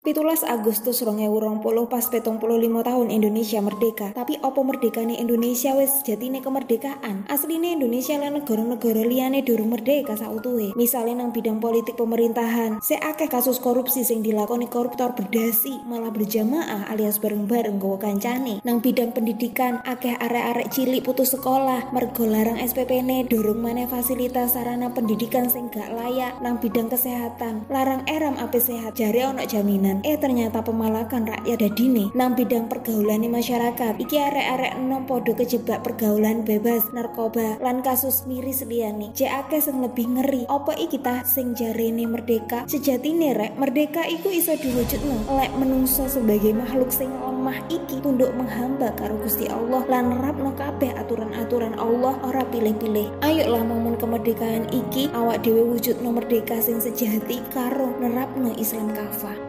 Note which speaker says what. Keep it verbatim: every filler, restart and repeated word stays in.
Speaker 1: Pitulas Agustus rong ewu rong puluh pas petong puluh lima tahun Indonesia merdeka. Tapi opo merdekane Indonesia wis jatine kemerdekaan? Asline Indonesia lan negara-negara liyane durung merdeka sautuhe. Misale nang bidang politik pemerintahan, seakeh kasus korupsi sing dilakoni koruptor berdasi malah berjamaah alias bareng-bareng nggawa kancane. Nang bidang pendidikan, akeh arek-arek cilik putus sekolah mergo larang S P P-ne, durung maneh fasilitas sarana pendidikan sing gak layak. Nang bidang kesehatan, larang eram ape sehat jare ono jaminan. Eh ternyata pemalakan rakyat dadine. Nang bidang pergaulan masyarakat, iki arek-arek enom podo kejebak pergaulan bebas, narkoba, lan kasus miris liyane. Cek akeh sing lebih ngeri. Apa iki tah sing jarene merdeka? Sejatine rek, merdeka iku iso diwujudno lek menungso sebagai makhluk sing lemah iki tunduk menghamba karo Gusti Allah lan nerapno kabeh aturan-aturan Allah, ora pilih-pilih. Ayolah momen kemerdekaan iki awak dhewe wujudno merdeka sing sejati karo nerapno Islam kafah.